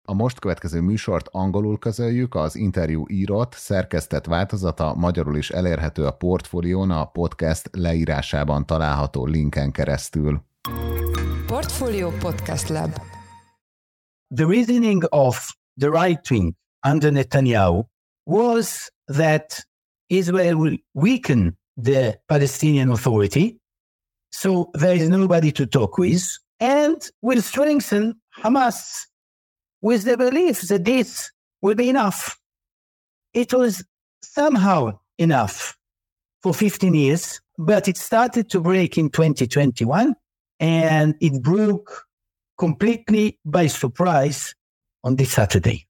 A most következő műsort angolul közöljük, az interjú írott, szerkesztett változata magyarul is elérhető a Portfólión, a podcast leírásában található linken keresztül. Portfolio Podcast Lab. The reasoning of the right wing under Netanyahu was that Israel will weaken the Palestinian Authority, so there is nobody to talk with, and will strengthen Hamas with the belief that this will be enough. It was somehow enough for 15 years, but it started to break in 2021, and it broke completely by surprise on this Saturday.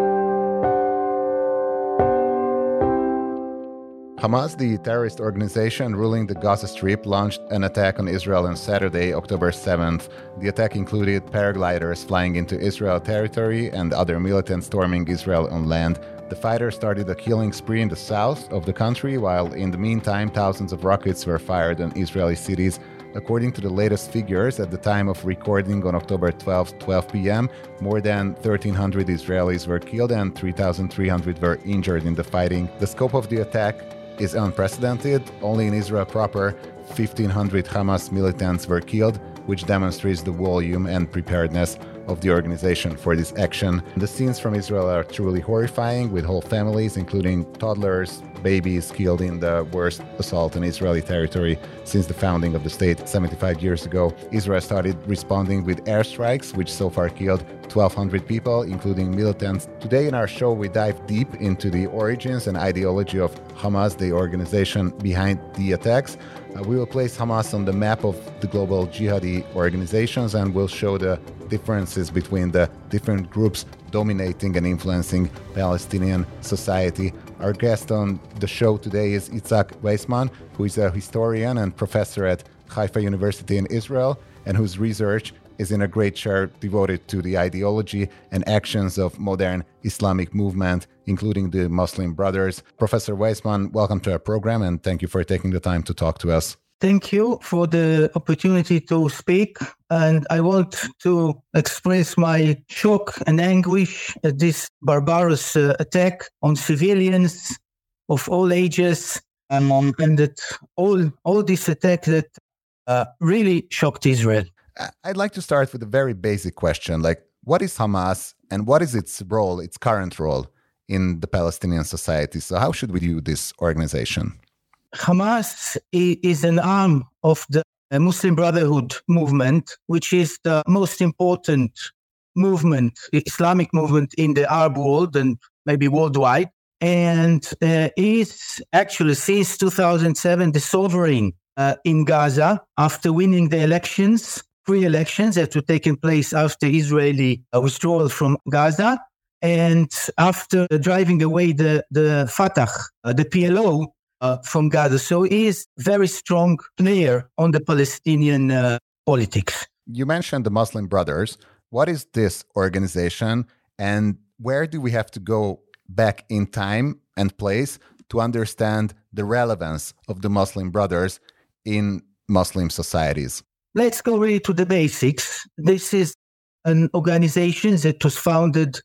Hamas, the terrorist organization ruling the Gaza Strip, launched an attack on Israel on Saturday, October 7th. The attack included paragliders flying into Israel territory and other militants storming Israel on land. The fighters started a killing spree in the south of the country, while in the meantime, thousands of rockets were fired on Israeli cities. According to the latest figures, at the time of recording on October 12, 12 p.m., more than 1,300 Israelis were killed and 3,300 were injured in the fighting. The scope of the attack is unprecedented. Only in Israel proper, 1,500 Hamas militants were killed, which demonstrates the volume and preparedness of the organization for this action. The scenes from Israel are truly horrifying, with whole families, including toddlers, babies, killed in the worst assault on Israeli territory since the founding of the state 75 years ago. Israel started responding with airstrikes, which so far killed 1,200 people, including militants. Today in our show, we dive deep into the origins and ideology of Hamas, the organization behind the attacks. We will place Hamas on the map of the global jihadi organizations, and we'll show the differences between the different groups dominating and influencing Palestinian society. Our guest on the show today is Itzhak Weissman, who is a historian and professor at Haifa University in Israel, and whose research is in a great share devoted to the ideology and actions of modern Islamic movement, including the Muslim Brothers. Professor Weissman, welcome to our program, and thank you for taking the time to talk to us. Thank you for the opportunity to speak, and I want to express my shock and anguish at this barbarous attack on civilians of all ages, and that all this attack that really shocked Israel. I'd like to start with a very basic question, like what is Hamas and what is its role, its current role in the Palestinian society? So how should we view this organization? Hamas is an arm of the Muslim Brotherhood movement, which is the most important movement, Islamic movement in the Arab world and maybe worldwide, and is actually since 2007 the sovereign in Gaza after winning the elections, free elections that were taking place after Israeli withdrawal from Gaza, and after driving away the Fatah, the PLO, from Gaza. So he is a very strong player on the Palestinian politics. You mentioned the Muslim Brothers. What is this organization, and where do we have to go back in time and place to understand the relevance of the Muslim Brothers in Muslim societies? Let's go really to the basics. This is an organization that was founded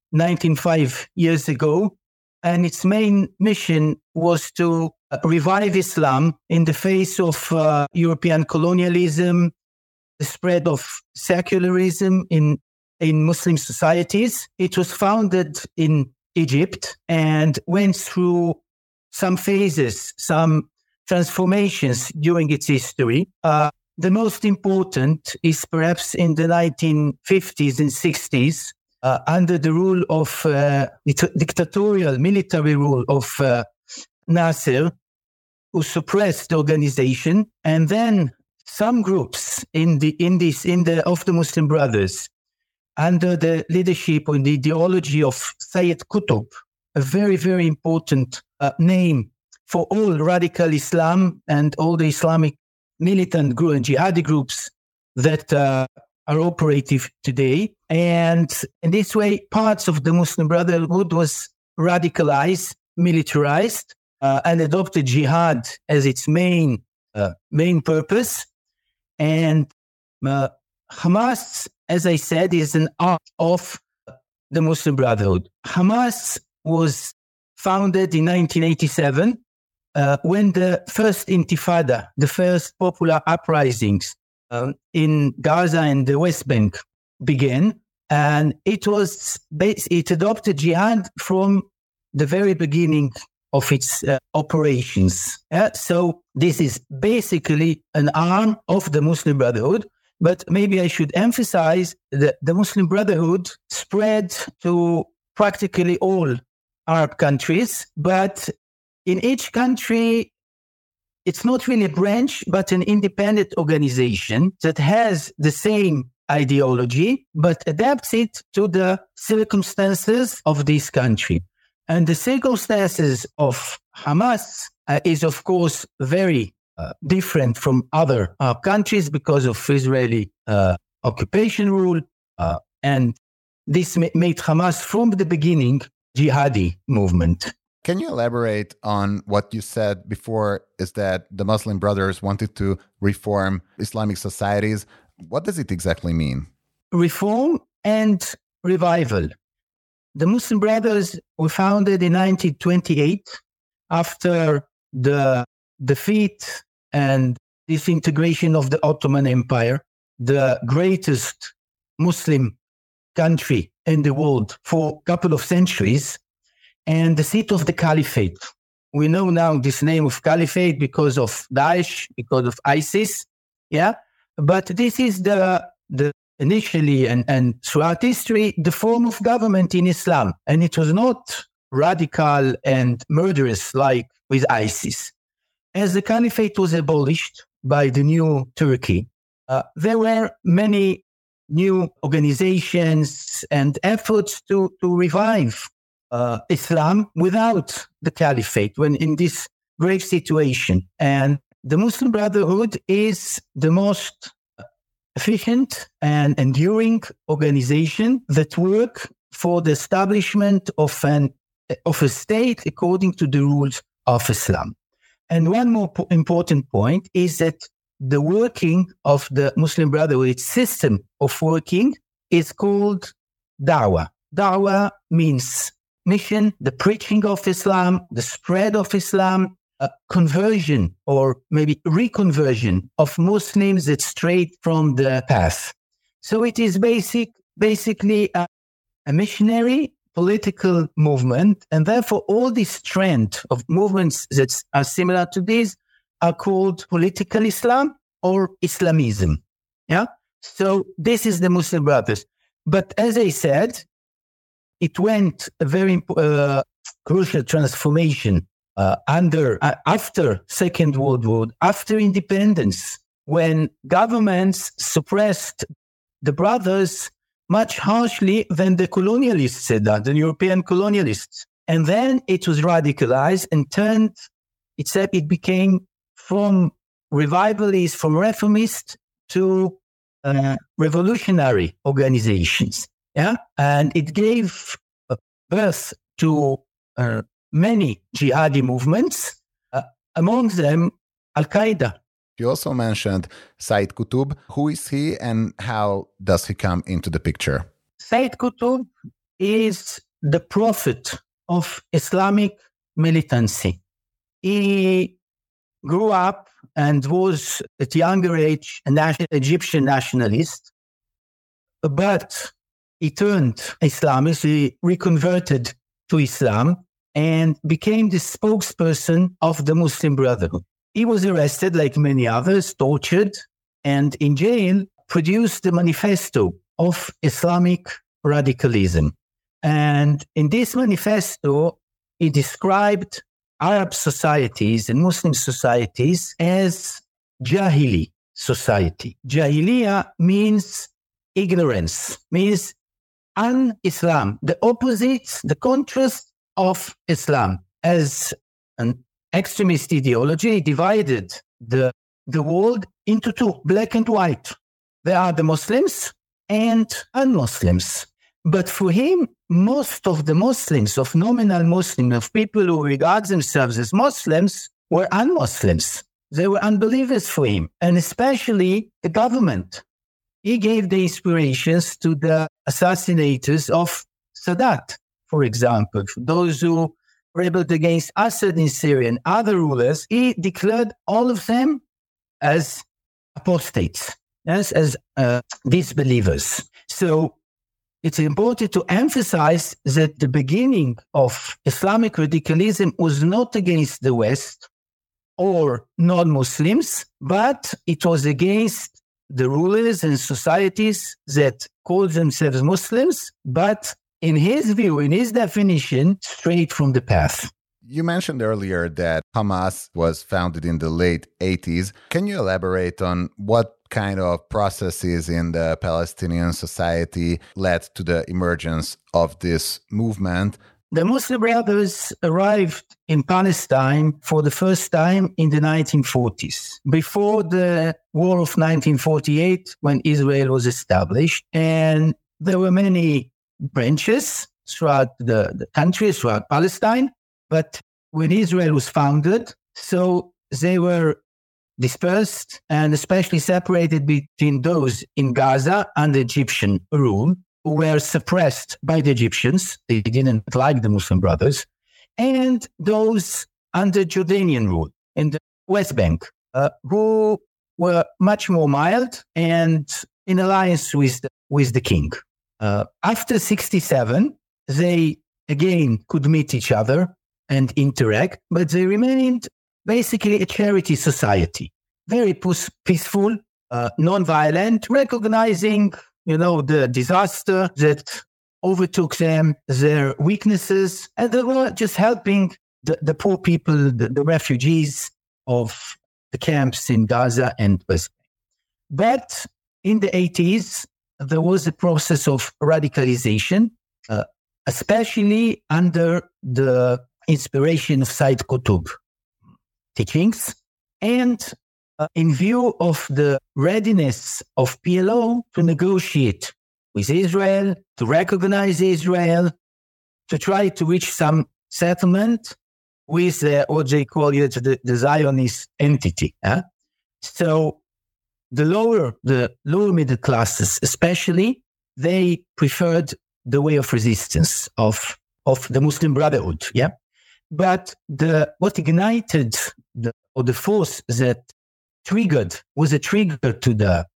95 years ago, and its main mission was to revive Islam in the face of European colonialism, the spread of secularism in Muslim societies. It was founded in Egypt and went through some phases, some transformations during its history. The most important is perhaps in the 1950s and 60s, under the rule of dictatorial military rule of Nasser, who suppressed the organization, and then some groups of the Muslim Brothers, under the leadership and the ideology of Sayyid Qutb, a very, very important name for all radical Islam and all the Islamic militant group and jihadi groups that are operative today. And in this way, parts of the Muslim Brotherhood was radicalized, militarized, and adopted jihad as its main purpose. And Hamas, as I said, is an arm of the Muslim Brotherhood. Hamas was founded in 1987 when the first Intifada, the first popular uprisings in Gaza and the West Bank began. And it adopted jihad from the very beginning of its operations. So this is basically an arm of the Muslim Brotherhood. But maybe I should emphasize that the Muslim Brotherhood spread to practically all Arab countries. But in each country, it's not really a branch, but an independent organization that has the same ideology, but adapts it to the circumstances of this country. And the circumstances of Hamas is, of course, very different from other countries because of Israeli occupation rule. And this made Hamas from the beginning jihadi movement. Can you elaborate on what you said before, is that the Muslim Brothers wanted to reform Islamic societies? What does it exactly mean? Reform and revival. The Muslim Brothers were founded in 1928 after the defeat and disintegration of the Ottoman Empire, the greatest Muslim country in the world for a couple of centuries, and the seat of the Caliphate. We know now this name of Caliphate because of Daesh, because of ISIS, but this is the initially and throughout history, the form of government in Islam. And it was not radical and murderous like with ISIS. As the Caliphate was abolished by the new Turkey, there were many new organizations and efforts to revive Islam without the Caliphate when in this grave situation. And the Muslim Brotherhood is the most efficient and enduring organization that work for the establishment of a state according to the rules of Islam. And one more important point is that the working of the Muslim Brotherhood, its system of working, is called da'wah. Da'wah means mission, the preaching of Islam, the spread of Islam, conversion or maybe reconversion of Muslims that strayed from the path. So it is basically a missionary political movement, and therefore all this trend of movements that are similar to this are called political Islam or Islamism. So this is the Muslim Brothers. But as I said, it went a very crucial transformation after Second World War, after independence, when governments suppressed the brothers much harshly than the colonialists had done, the European colonialists. And then it was radicalized and it became from revivalists, from reformists to revolutionary organizations. And it gave birth to many jihadi movements, among them Al-Qaeda. You also mentioned Sayyid Qutb. Who is he and how does he come into the picture? Sayyid Qutb is the prophet of Islamic militancy. He grew up and was at younger age an Egyptian nationalist, but he turned Islamist, he reconverted to Islam and became the spokesperson of the Muslim Brotherhood. He was arrested like many others, tortured, and in jail produced the manifesto of Islamic radicalism. And in this manifesto, he described Arab societies and Muslim societies as Jahili society. Jahiliya means ignorance, means un-Islam, the opposite, the contrast of Islam. As an extremist ideology divided the world into two, black and white. There are the Muslims and un-Muslims. But for him, most of the Muslims, of nominal Muslims, of people who regard themselves as Muslims, were un-Muslims. They were unbelievers for him, and especially the government. He gave the inspirations to the assassinators of Sadat, for example, for those who rebelled against Assad in Syria and other rulers, he declared all of them as apostates, as disbelievers. So it's important to emphasize that the beginning of Islamic radicalism was not against the West or non-Muslims, but it was against the rulers and societies that called themselves Muslims, but in his view, in his definition, straight from the path. You mentioned earlier that Hamas was founded in the late 80s. Can you elaborate on what kind of processes in the Palestinian society led to the emergence of this movement? The Muslim Brothers arrived in Palestine for the first time in the 1940s, before the War of 1948, when Israel was established. And there were many branches throughout the country, throughout Palestine. But when Israel was founded, so they were dispersed and especially separated between those in Gaza under Egyptian rule, who were suppressed by the Egyptians. They didn't like the Muslim Brothers. And those under Jordanian rule in the West Bank, who were much more mild and in alliance with the king. After 1967, they again could meet each other and interact, but they remained basically a charity society, very peaceful, non-violent, recognizing the disaster that overtook them, their weaknesses, and they were just helping the poor people, the refugees of the camps in Gaza and West Bank. But in the 80s, there was a process of radicalization, especially under the inspiration of Said Qutb teachings, and in view of the readiness of PLO to negotiate with Israel, to recognize Israel, to try to reach some settlement with what they call the Zionist entity. So the lower middle classes, especially, they preferred the way of resistance of the Muslim Brotherhood. Yeah, but what ignited the force that was a trigger to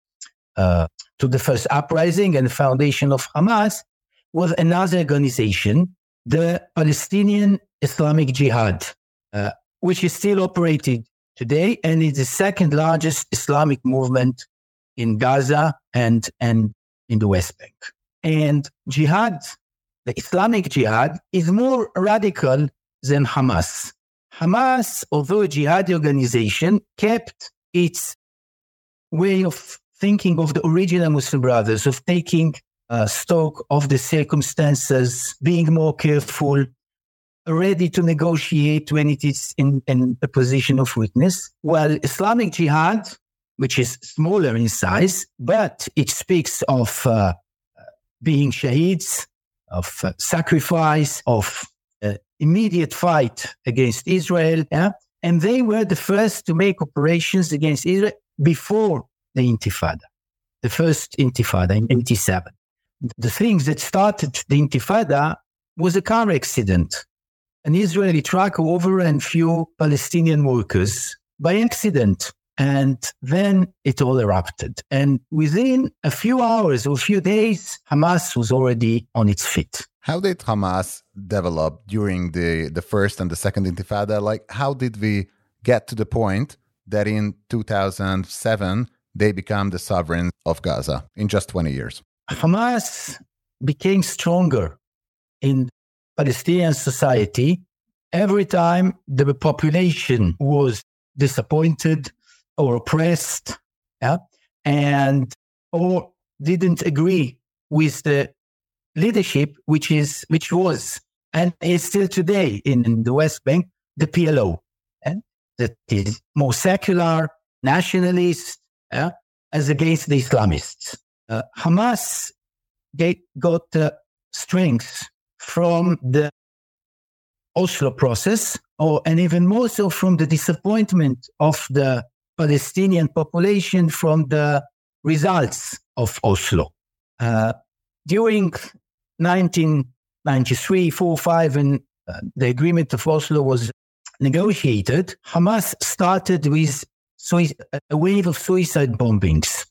the first uprising and the foundation of Hamas was another organization, the Palestinian Islamic Jihad, which is still operating today and is the second largest Islamic movement in Gaza and in the West Bank. And jihad, the Islamic Jihad, is more radical than Hamas. Hamas, although a jihad organization, kept its way of thinking of the original Muslim Brothers, of taking stock of the circumstances, being more careful, ready to negotiate when it is in a position of weakness. While Islamic Jihad, which is smaller in size, but it speaks of being shaheeds, of sacrifice, of immediate fight against Israel. Yeah? And they were the first to make operations against Israel before the Intifada, the first Intifada in 1987. The things that started the Intifada was a car accident. An Israeli truck overran few Palestinian workers by accident. And then it all erupted. And within a few hours or a few days, Hamas was already on its feet. How did Hamas develop during the first and the second Intifada? Like, how did we get to the point that in 2007, they become the sovereign of Gaza in just 20 years? Hamas became stronger in Palestinian society every time the population was disappointed or oppressed, or didn't agree with the leadership, which was and is still today in the West Bank, the PLO, that is more secular, nationalist, as against the Islamists. Hamas got strength from the Oslo process, and even more so from the disappointment of the Palestinian population from the results of Oslo. During 19 93, 4, 5, and the agreement of Oslo was negotiated, Hamas started with a wave of suicide bombings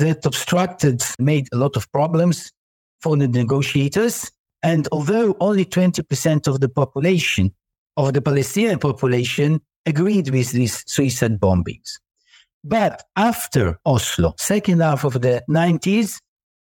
that made a lot of problems for the negotiators. And although only 20% of the population, of the Palestinian population, agreed with these suicide bombings. But after Oslo, second half of the 90s,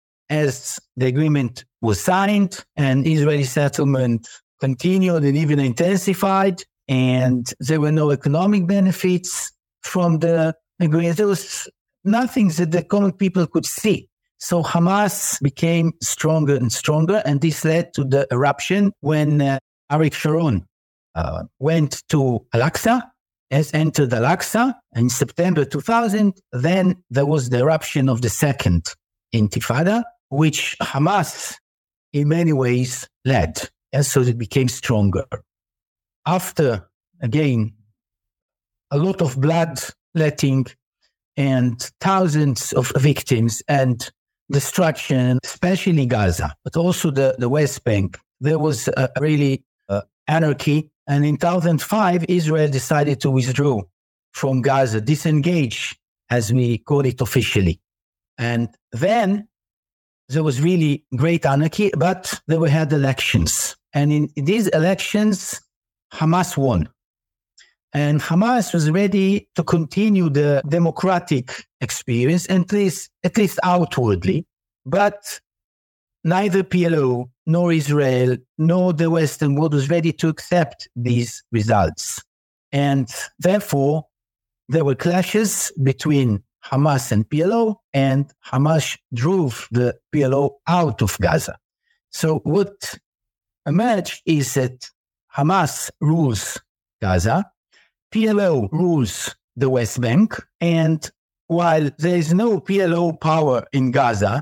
as the agreement was signed and Israeli settlement continued and even intensified, and there were no economic benefits from the agreement, there was nothing that the common people could see. So Hamas became stronger and stronger, and this led to the eruption when Ariel Sharon went to Al-Aqsa, entered Al-Aqsa in September 2000. Then there was the eruption of the second Intifada, which Hamas in many ways led, and so it became stronger. After, again, a lot of bloodletting and thousands of victims and destruction, especially Gaza, but also the West Bank, there was really anarchy. And in 2005, Israel decided to withdraw from Gaza, disengage, as we call it officially. And then there was really great anarchy, but we had elections. And in these elections, Hamas won. And Hamas was ready to continue the democratic experience, at least outwardly. But neither PLO, nor Israel, nor the Western world was ready to accept these results. And therefore, there were clashes between Hamas and PLO, and Hamas drove the PLO out of Gaza. So what emerged is that Hamas rules Gaza, PLO rules the West Bank, and while there is no PLO power in Gaza,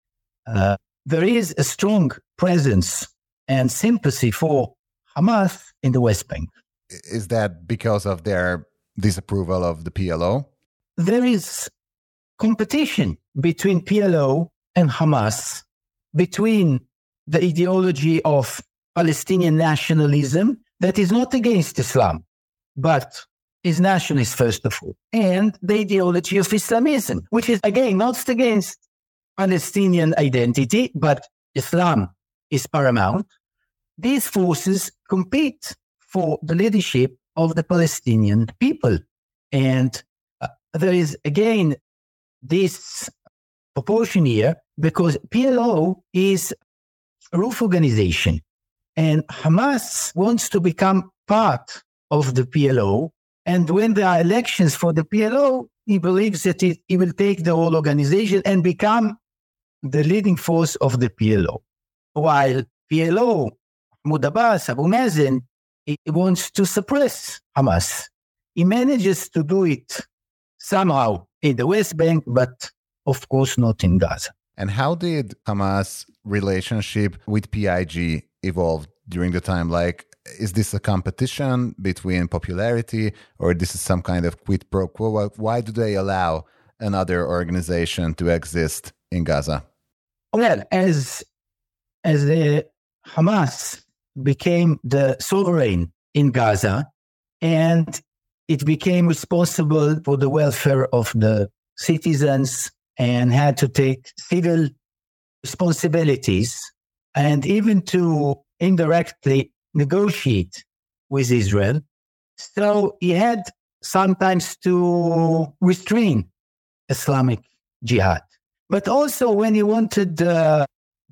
there is a strong presence and sympathy for Hamas in the West Bank. Is that because of their disapproval of the PLO? There is competition between PLO and Hamas, between the ideology of Palestinian nationalism that is not against Islam, but is nationalist first of all, and the ideology of Islamism, which is again not against Palestinian identity, but Islam is paramount. These forces compete for the leadership of the Palestinian people. And there is again this proportion here because PLO is a roof organization and Hamas wants to become part of the PLO. And when there are elections for the PLO, he believes that he will take the whole organization and become the leading force of the PLO. While PLO, Mahmoud Abbas, Abu Mazen, he wants to suppress Hamas. He manages to do it somehow in the West Bank, but of course not in Gaza. And how did Hamas' relationship with PIG evolve during the time? Like, is this a competition between popularity, or this is some kind of quid pro quo? Why do they allow another organization to exist in Gaza? Well, as the Hamas became the sovereign in Gaza, and it became responsible for the welfare of the citizens and had to take civil responsibilities and even to indirectly negotiate with Israel. So he had sometimes to restrain Islamic Jihad. But also when he wanted to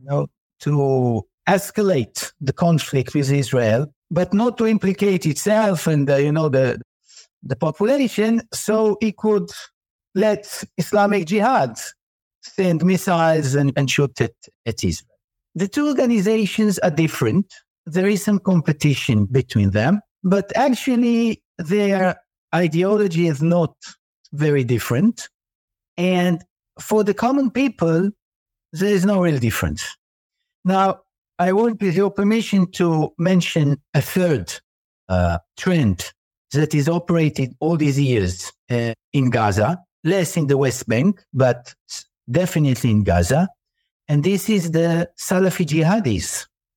escalate the conflict with Israel, but not to implicate itself and the population, so he could let Islamic Jihad send missiles and shoot at Israel. The two organizations are different. There is some competition between them, but actually their ideology is not very different. And for the common people, there is no real difference. Now, I want, with your permission, to mention a third trend that is operated all these years in Gaza, less in the West Bank, but definitely in Gaza. And this is the Salafi jihadis.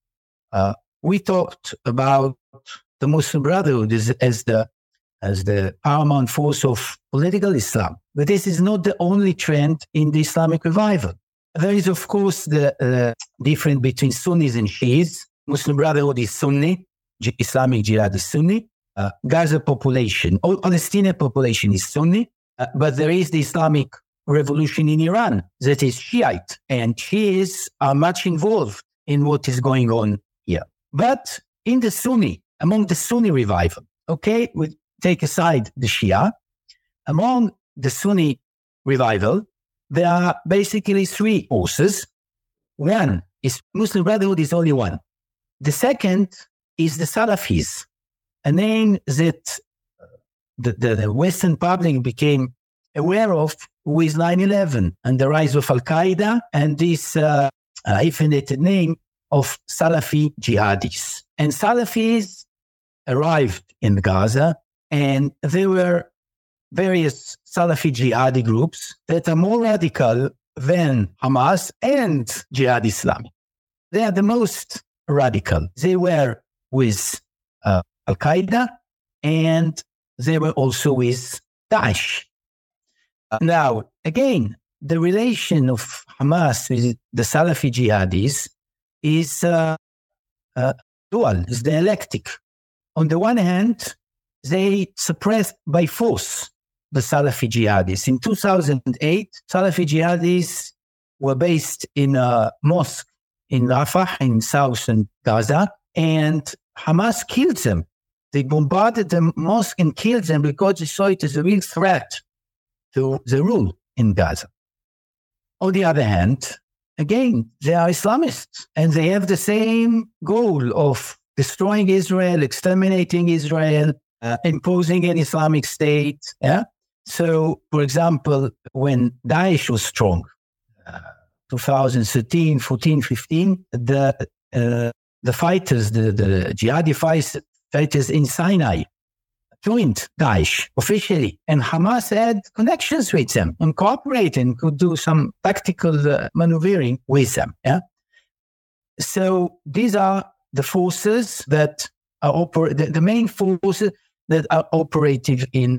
We talked about the Muslim Brotherhood as the paramount force of political Islam. But this is not the only trend in the Islamic revival. There is, of course, the difference between Sunnis and Shias. Muslim Brotherhood is Sunni, Islamic Jihad is Sunni. Gaza population, or Palestinian population is Sunni, but there is the Islamic revolution in Iran that is Shiite, and Shias are much involved in what is going on here. But in the Sunni, among the Sunni revival, okay, we take aside the Shia, among the Sunni revival, there are basically three forces. One is Muslim Brotherhood is only one. The second is the Salafis, a name that the Western public became aware of with 9/11 and the rise of Al-Qaeda and this hyphenated name of Salafi jihadis. And Salafis arrived in Gaza, and there were various Salafi jihadi groups that are more radical than Hamas and Jihad Islami. They are the most radical. They were with Al-Qaeda, and they were also with Daesh. Now, again, the relation of Hamas with the Salafi jihadis is dual, is dialectic. On the one hand, they suppressed by force the Salafi jihadis. In 2008, Salafi jihadis were based in a mosque in Rafah, in southern Gaza, and Hamas killed them. They bombarded the mosque and killed them because they saw it as a real threat to the rule in Gaza. On the other hand, again, they are Islamists, and they have the same goal of destroying Israel, exterminating Israel, imposing an Islamic state. Yeah. So, for example, when Daesh was strong, 2013, 14, 15, the fighters, the jihadi fighters in Sinai joined Daesh officially, and Hamas had connections with them and cooperated and could do some tactical maneuvering with them. Yeah. So these are the forces that are the main forces that are operative in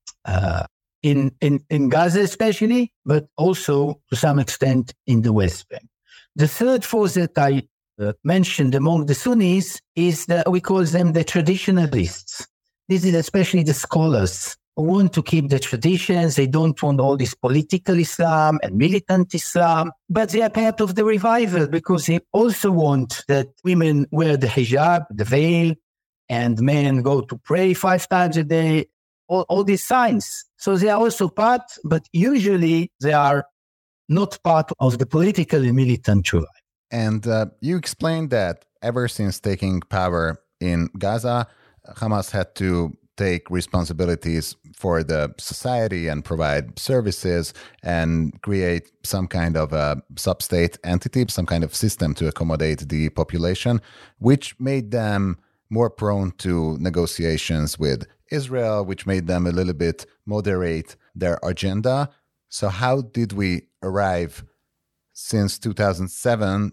Gaza especially, but also to some extent in the West Bank. The third force that I mentioned among the Sunnis is that we call them the traditionalists. This is especially the scholars who want to keep the traditions. They don't want all this political Islam and militant Islam, but they are part of the revival because they also want that women wear the hijab, the veil, and men go to pray 5 times a day, all these signs. So they are also part, but usually they are not part of the political and militant revival. And you explained that ever since taking power in Gaza, Hamas had to take responsibilities for the society and provide services and create some kind of a sub-state entity, some kind of system to accommodate the population, which made them more prone to negotiations with Israel, which made them a little bit moderate their agenda. So how did we arrive since 2007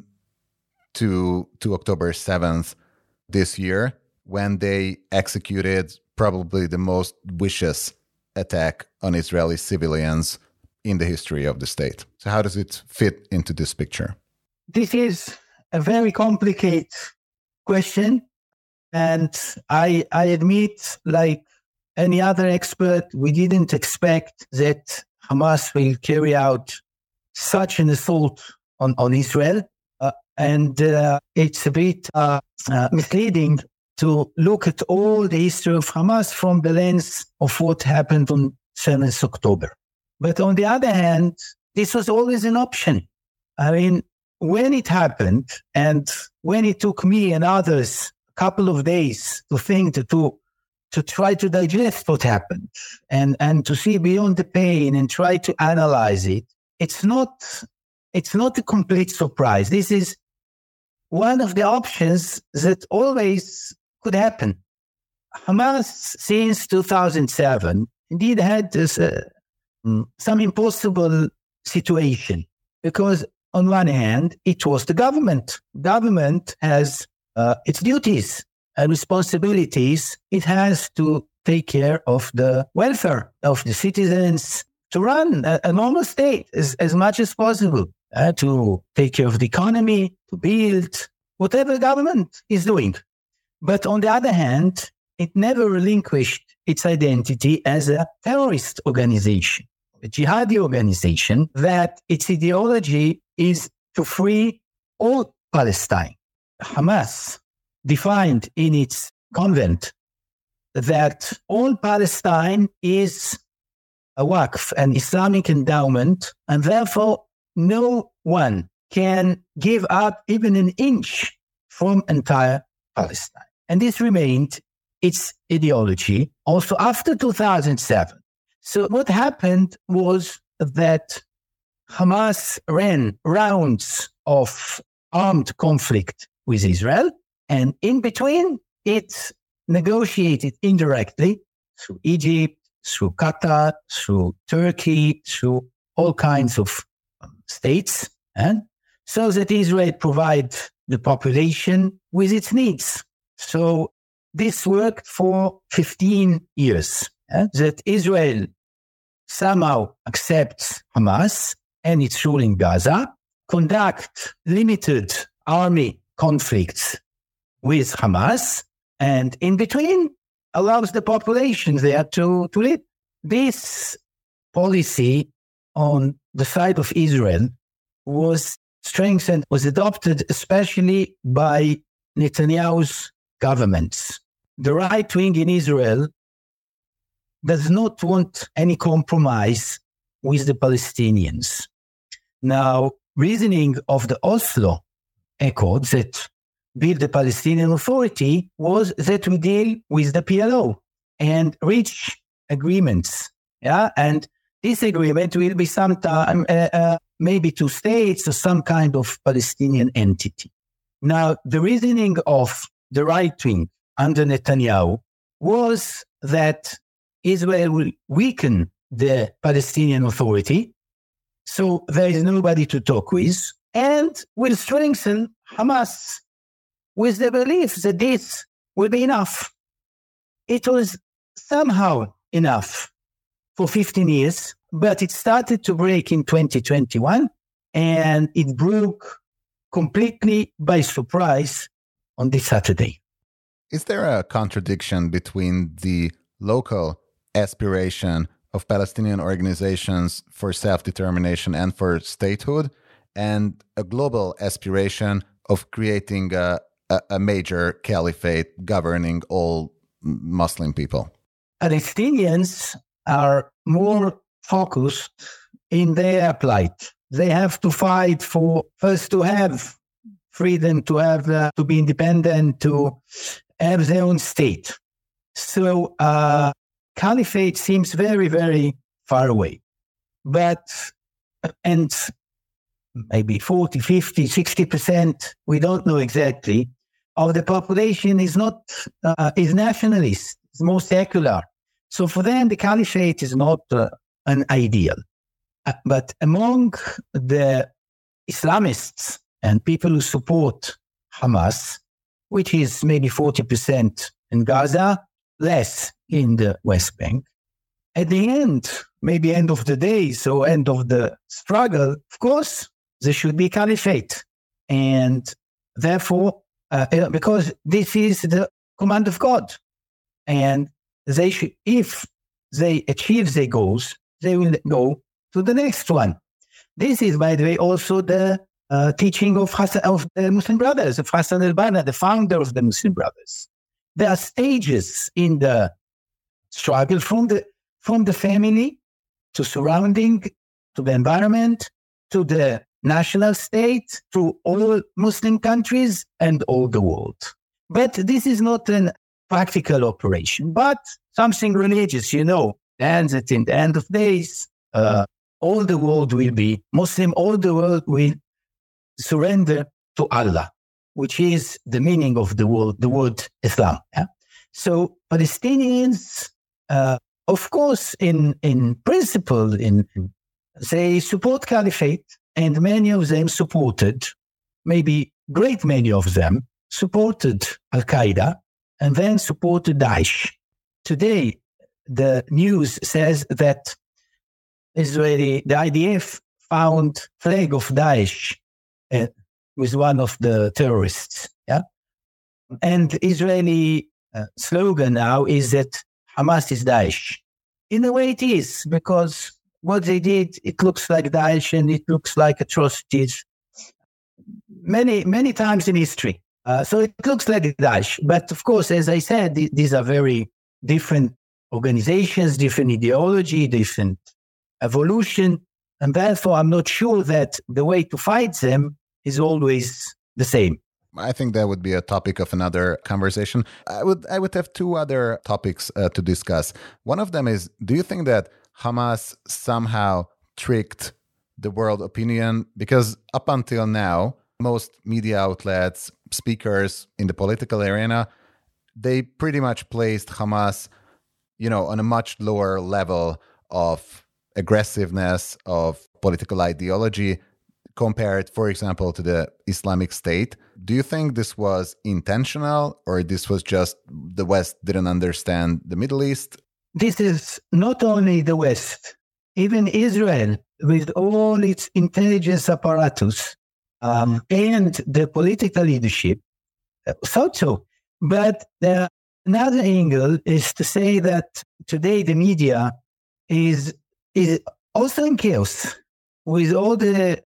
to October 7th this year, when they executed probably the most vicious attack on Israeli civilians in the history of the state? So how does it fit into this picture? This is a very complicated question. And I admit, like any other expert, we didn't expect that Hamas will carry out such an assault on Israel. And it's a bit misleading to look at all the history of Hamas from the lens of what happened on 7th October. But on the other hand, this was always an option. I mean, when it happened and when it took me and others a couple of days to think, to try to digest what happened and to see beyond the pain and try to analyze it, it's not a complete surprise. This is one of the options that always could happen. Hamas, since 2007, indeed had this, some impossible situation because, on one hand, it was the government. Government has its duties and responsibilities. It has to take care of the welfare of the citizens, to run a normal state as much as possible, to take care of the economy, to build whatever government is doing. But on the other hand, it never relinquished its identity as a terrorist organization, a jihadi organization, that its ideology is to free all Palestine. Hamas defined in its convent that all Palestine is a waqf, an Islamic endowment, and therefore no one can give up even an inch from entire Palestine. And this remained its ideology also after 2007. So what happened was that Hamas ran rounds of armed conflict with Israel, and in between it negotiated indirectly through Egypt, through Qatar, through Turkey, through all kinds of states, and so that Israel provide the population with its needs. So this worked for 15 years, that Israel somehow accepts Hamas and its rule in Gaza, conduct limited army conflicts with Hamas, and in between allows the population there to live. This policy on the side of Israel was strengthened, was adopted especially by Netanyahu's governments. The right wing in Israel does not want any compromise with the Palestinians. Now, reasoning of the Oslo Accord that built the Palestinian Authority was that we deal with the PLO and reach agreements. Yeah, and this agreement will be sometime maybe 2 states or some kind of Palestinian entity. Now, the reasoning of the right wing under Netanyahu was that Israel will weaken the Palestinian Authority, so there is nobody to talk with, and will strengthen Hamas with the belief that this will be enough. It was somehow enough for 15 years, but it started to break in 2021, and it broke completely by surprise on this Saturday. Is there a contradiction between the local aspiration of Palestinian organizations for self-determination and for statehood and a global aspiration of creating a major caliphate governing all Muslim people? Palestinians are more focused in their plight. They have to fight for first to have freedom, to have to be independent, to have their own state. So caliphate seems very, very far away. And maybe 40, 50, 60%, we don't know exactly, of the population is not is nationalist, is more secular. So for them, the caliphate is not an ideal. But among the Islamists and people who support Hamas, which is maybe 40% in Gaza, less in the West Bank, at the end, maybe end of the day, so end of the struggle, of course, there should be caliphate. And therefore, because this is the command of God. And they should, if they achieve their goals, they will go to the next one. This is, by the way, also the teaching of the Muslim Brothers, of Hassan al-Banna, the founder of the Muslim Brothers. There are stages in the struggle from the family to surrounding, to the environment, to the national state, to all Muslim countries and all the world. But this is not a practical operation, but something religious, and that in the end of days, all the world will be Muslim, all the world will surrender to Allah, which is the meaning of the word Islam. Yeah? So Palestinians, of course, in principle, they support caliphate, and many of them supported, maybe great many of them, supported Al-Qaeda and then supported Daesh. Today, the news says that the IDF found flag of Daesh with one of the terrorists. Yeah, and Israeli slogan now is that Hamas is Daesh. In a way, it is, because what they did, it looks like Daesh and it looks like atrocities many times in history. So it looks like Daesh. But of course, as I said, these are very different organizations, different ideology, different evolution. And therefore, I'm not sure that the way to fight them is always the same. I think that would be a topic of another conversation. I would have two other topics to discuss. One of them is, do you think that Hamas somehow tricked the world opinion? Because up until now, most media outlets, speakers in the political arena, they pretty much placed Hamas, on a much lower level of aggressiveness, of political ideology, compared, for example, to the Islamic State. Do you think this was intentional, or this was just the West didn't understand the Middle East? This is not only the West, even Israel, with all its intelligence apparatus and the political leadership, thought so. But another angle is to say that today the media is also in chaos with all the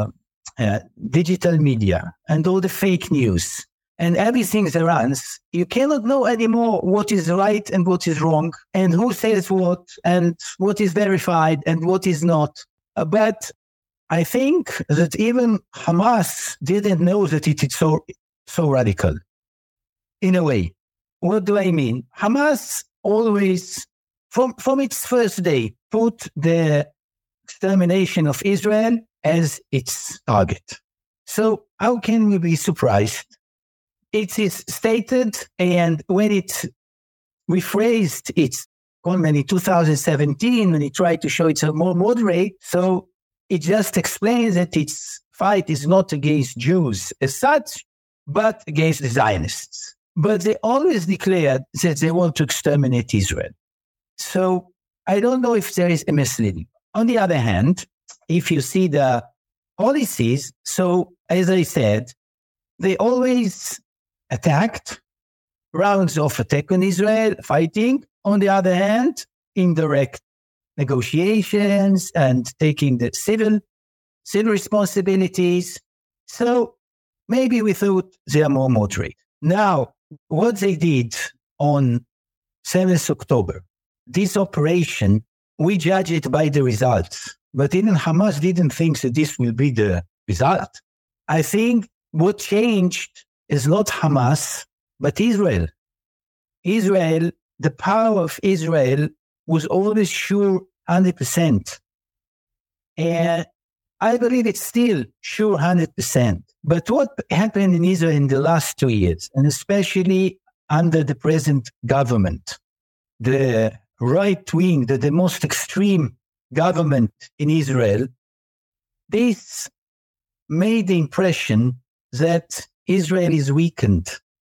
digital media and all the fake news and everything that runs. You cannot know anymore what is right and what is wrong and who says what and what is verified and what is not. But I think that even Hamas didn't know that it is so radical. In a way, what do I mean? Hamas always, from its first day, put the extermination of Israel as its target. So how can we be surprised? It is stated, and when it rephrased its comment in 2017, when it tried to show it's a more moderate, so it just explains that its fight is not against Jews as such, but against the Zionists. But they always declared that they want to exterminate Israel. So I don't know if there is a misleading. On the other hand, if you see the policies, so as I said, they always attacked, rounds of attack on Israel, fighting. On the other hand, indirect negotiations and taking the civil responsibilities. So maybe we thought they are more moderate. Now, what they did on 7th October, this operation, we judge it by the results. But even Hamas didn't think that this will be the result. I think what changed is not Hamas, but Israel. Israel, the power of Israel was always sure 100%. And I believe it's still sure 100%. But what happened in Israel in the last 2 years, and especially under the present government, the right wing, the most extreme government in Israel, this made the impression that Israel is weakened.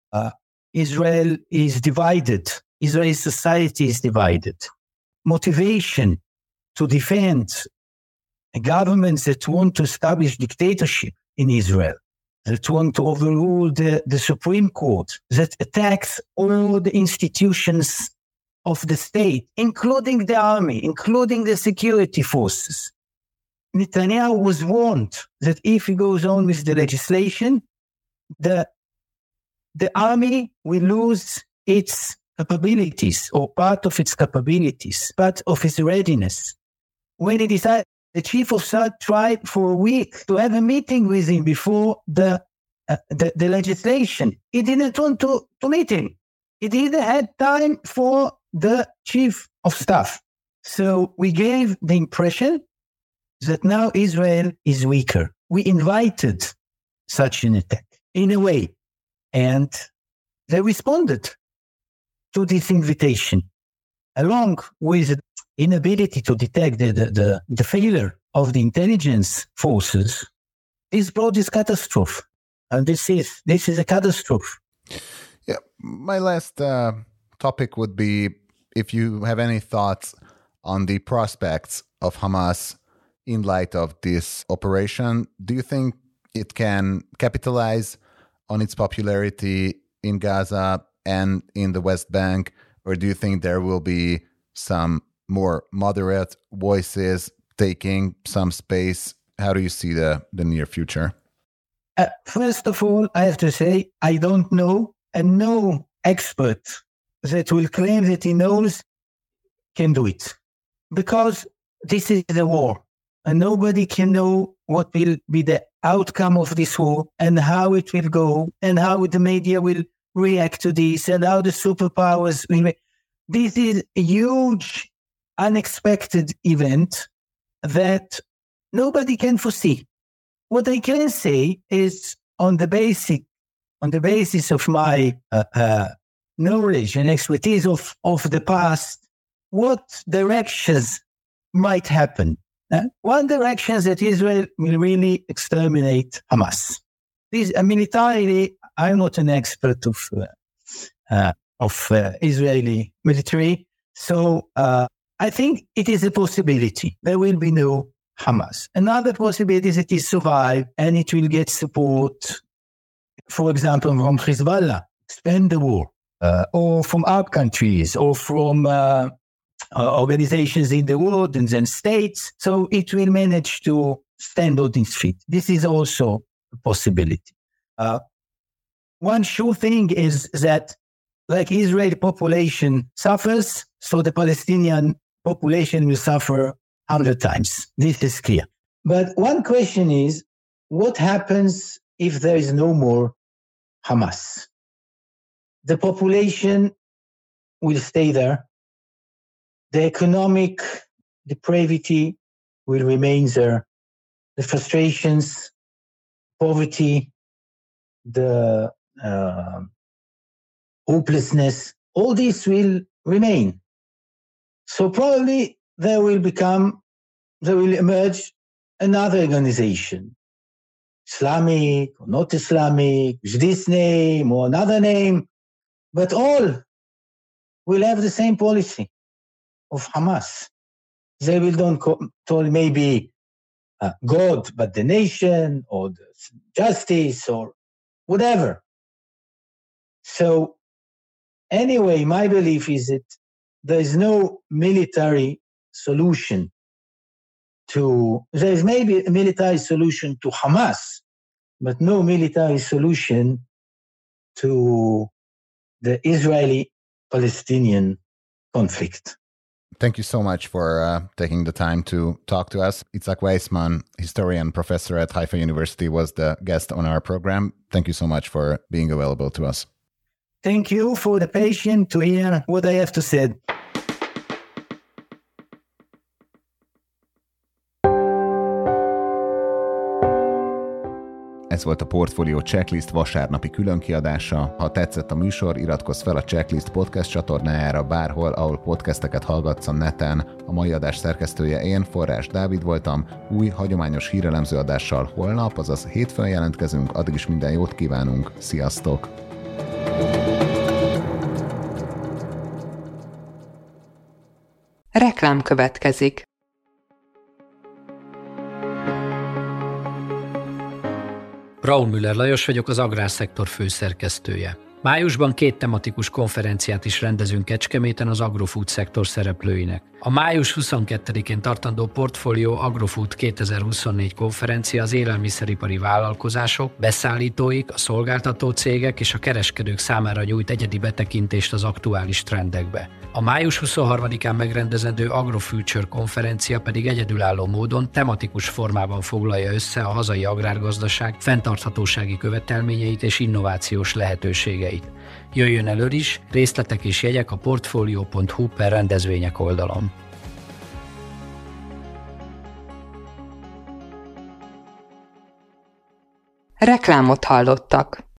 Israel is divided. Israel's society is divided. Motivation to defend governments that want to establish dictatorship in Israel, that want to overrule the Supreme Court, that attacks all the institutions of the state, including the army, including the security forces. Netanyahu was warned that if he goes on with the legislation, the army will lose its capabilities or part of its capabilities, part of its readiness. When he decided, the chief of staff tried for a week to have a meeting with him before the legislation. He didn't want to meet him. He didn't have time for the chief of staff. So we gave the impression that now Israel is weaker. We invited such an attack in a way, and they responded to this invitation, along with inability to detect the failure of the intelligence forces. This brought this catastrophe. And this is a catastrophe. Yeah. My last topic would be if you have any thoughts on the prospects of Hamas in light of this operation. Do you think it can capitalize on its popularity in Gaza and in the West Bank, or do you think there will be some more moderate voices taking some space? How do you see the near future? First of all, I have to say, I don't know, and no expert that will claim that he knows can do it. Because this is a war, and nobody can know what will be the outcome of this war and how it will go and how the media will react to this and how the superpowers will react. This is a huge, unexpected event that nobody can foresee. What I can say is on the basis of my knowledge and expertise of the past, what directions might happen. One direction is that Israel will really exterminate Hamas. Militarily, I'm not an expert of Israeli military, so I think it is a possibility. There will be no Hamas. Another possibility is that it survive and it will get support, for example, from Hezbollah, spend the war, or from Arab countries, or from organizations in the world and then states. So it will manage to stand on its feet. This is also a possibility. One sure thing is that like Israeli population suffers, so the Palestinian population will suffer 100 times. This is clear. But one question is, what happens if there is no more Hamas? The population will stay there. The economic depravity will remain there. The frustrations, poverty, the hopelessness, all this will remain. So probably there will emerge another organization, Islamic or not Islamic, with this name or another name, but all will have the same policy of Hamas. They will don't call maybe God, but the nation or the justice or whatever. So anyway, my belief is that there is no military solution there is maybe a military solution to Hamas, but no military solution to the Israeli-Palestinian conflict. Thank you so much for taking the time to talk to us. Itzhak Weissman, historian, professor at Haifa University, was the guest on our program. Thank you so much for being available to us. Thank you for the patience to hear what I have to say. Ez volt a Portfolio Checklist vasárnapi különkiadása. Ha tetszett a műsor, iratkozz fel a Checklist podcast csatornájára bárhol, ahol podcasteket hallgatsz a neten. A mai adás szerkesztője én, Forrás Dávid voltam. Új, hagyományos hírelemző adással holnap, azaz hétfőn jelentkezünk. Addig is minden jót kívánunk. Sziasztok! Reklám következik. Braun Müller Lajos vagyok, az Agrárszektor főszerkesztője. Májusban 2 tematikus konferenciát is rendezünk Kecskeméten az agrofood szektor szereplőinek. A május 22-én tartandó Portfolio Agrofood 2024 konferencia az élelmiszeripari vállalkozások, beszállítóik, a szolgáltató cégek és a kereskedők számára nyújt egyedi betekintést az aktuális trendekbe. A május 23-án megrendezendő Agrofuture konferencia pedig egyedülálló módon tematikus formában foglalja össze a hazai agrárgazdaság fenntarthatósági követelményeit és innovációs lehetőségeit. Jöjjön elő is, részletek és jegyek a portfolio.hu/rendezvények oldalon. Reklámot hallottak.